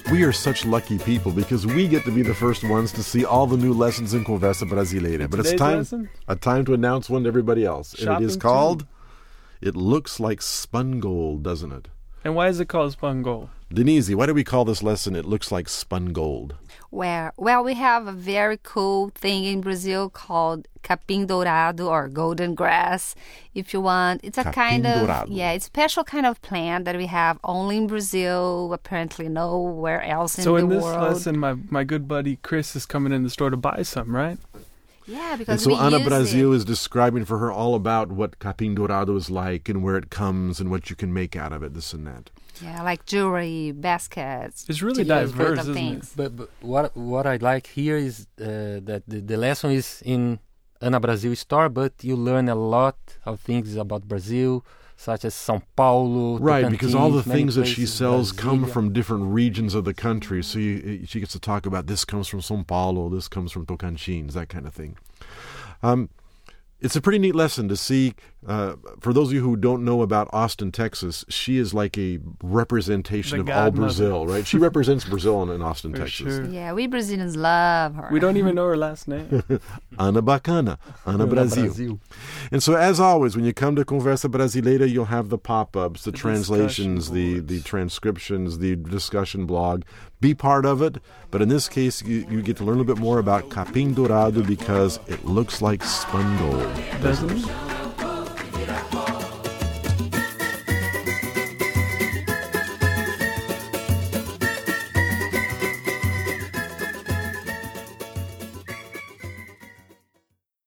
We are such lucky people because we get to be the first ones to see all the new lessons in Conversa Brasileira. But it's time to announce one to everybody else. And it is called, It Looks Like Spun Gold, doesn't it? And why is it called Spun Gold? Denise, why do we call this lesson It Looks Like Spun Gold? Well, we have a very cool thing in Brazil called capim dourado or golden grass, if you want. It's a Capim dourado. it's a special kind of plant that we have only in Brazil, apparently nowhere else in the world. So in this lesson, my good buddy Chris is coming in the store to buy some, right? Yeah, because and so Ana use Brasil is describing for her all about what capim dourado is like and where it comes and what you can make out of it, this and that. Yeah, like jewelry, baskets. It's really diverse, isn't things. it? But what I like here is that the lesson is in Ana Brasil store, but you learn a lot of things about Brazil, such as São Paulo. Right, Tocantins, because all the many things that she places, sells come Brasilia. from different regions of the country. So she gets to talk about this comes from São Paulo, this comes from Tocantins, that kind of thing. It's a pretty neat lesson to see. For those of you who don't know about Austin, Texas, she is like a representation of all Brazil, right? She represents Brazil in Austin, For Texas. sure. Yeah, we Brazilians love her. We don't even know her last name. Ana Bacana, Ana Brasil. And so, as always, when you come to Conversa Brasileira, you'll have the pop-ups, the translations, the transcriptions, the discussion blog. Be part of it. But in this case, you get to learn a little bit more about capim dourado because it looks like spun gold. Doesn't it?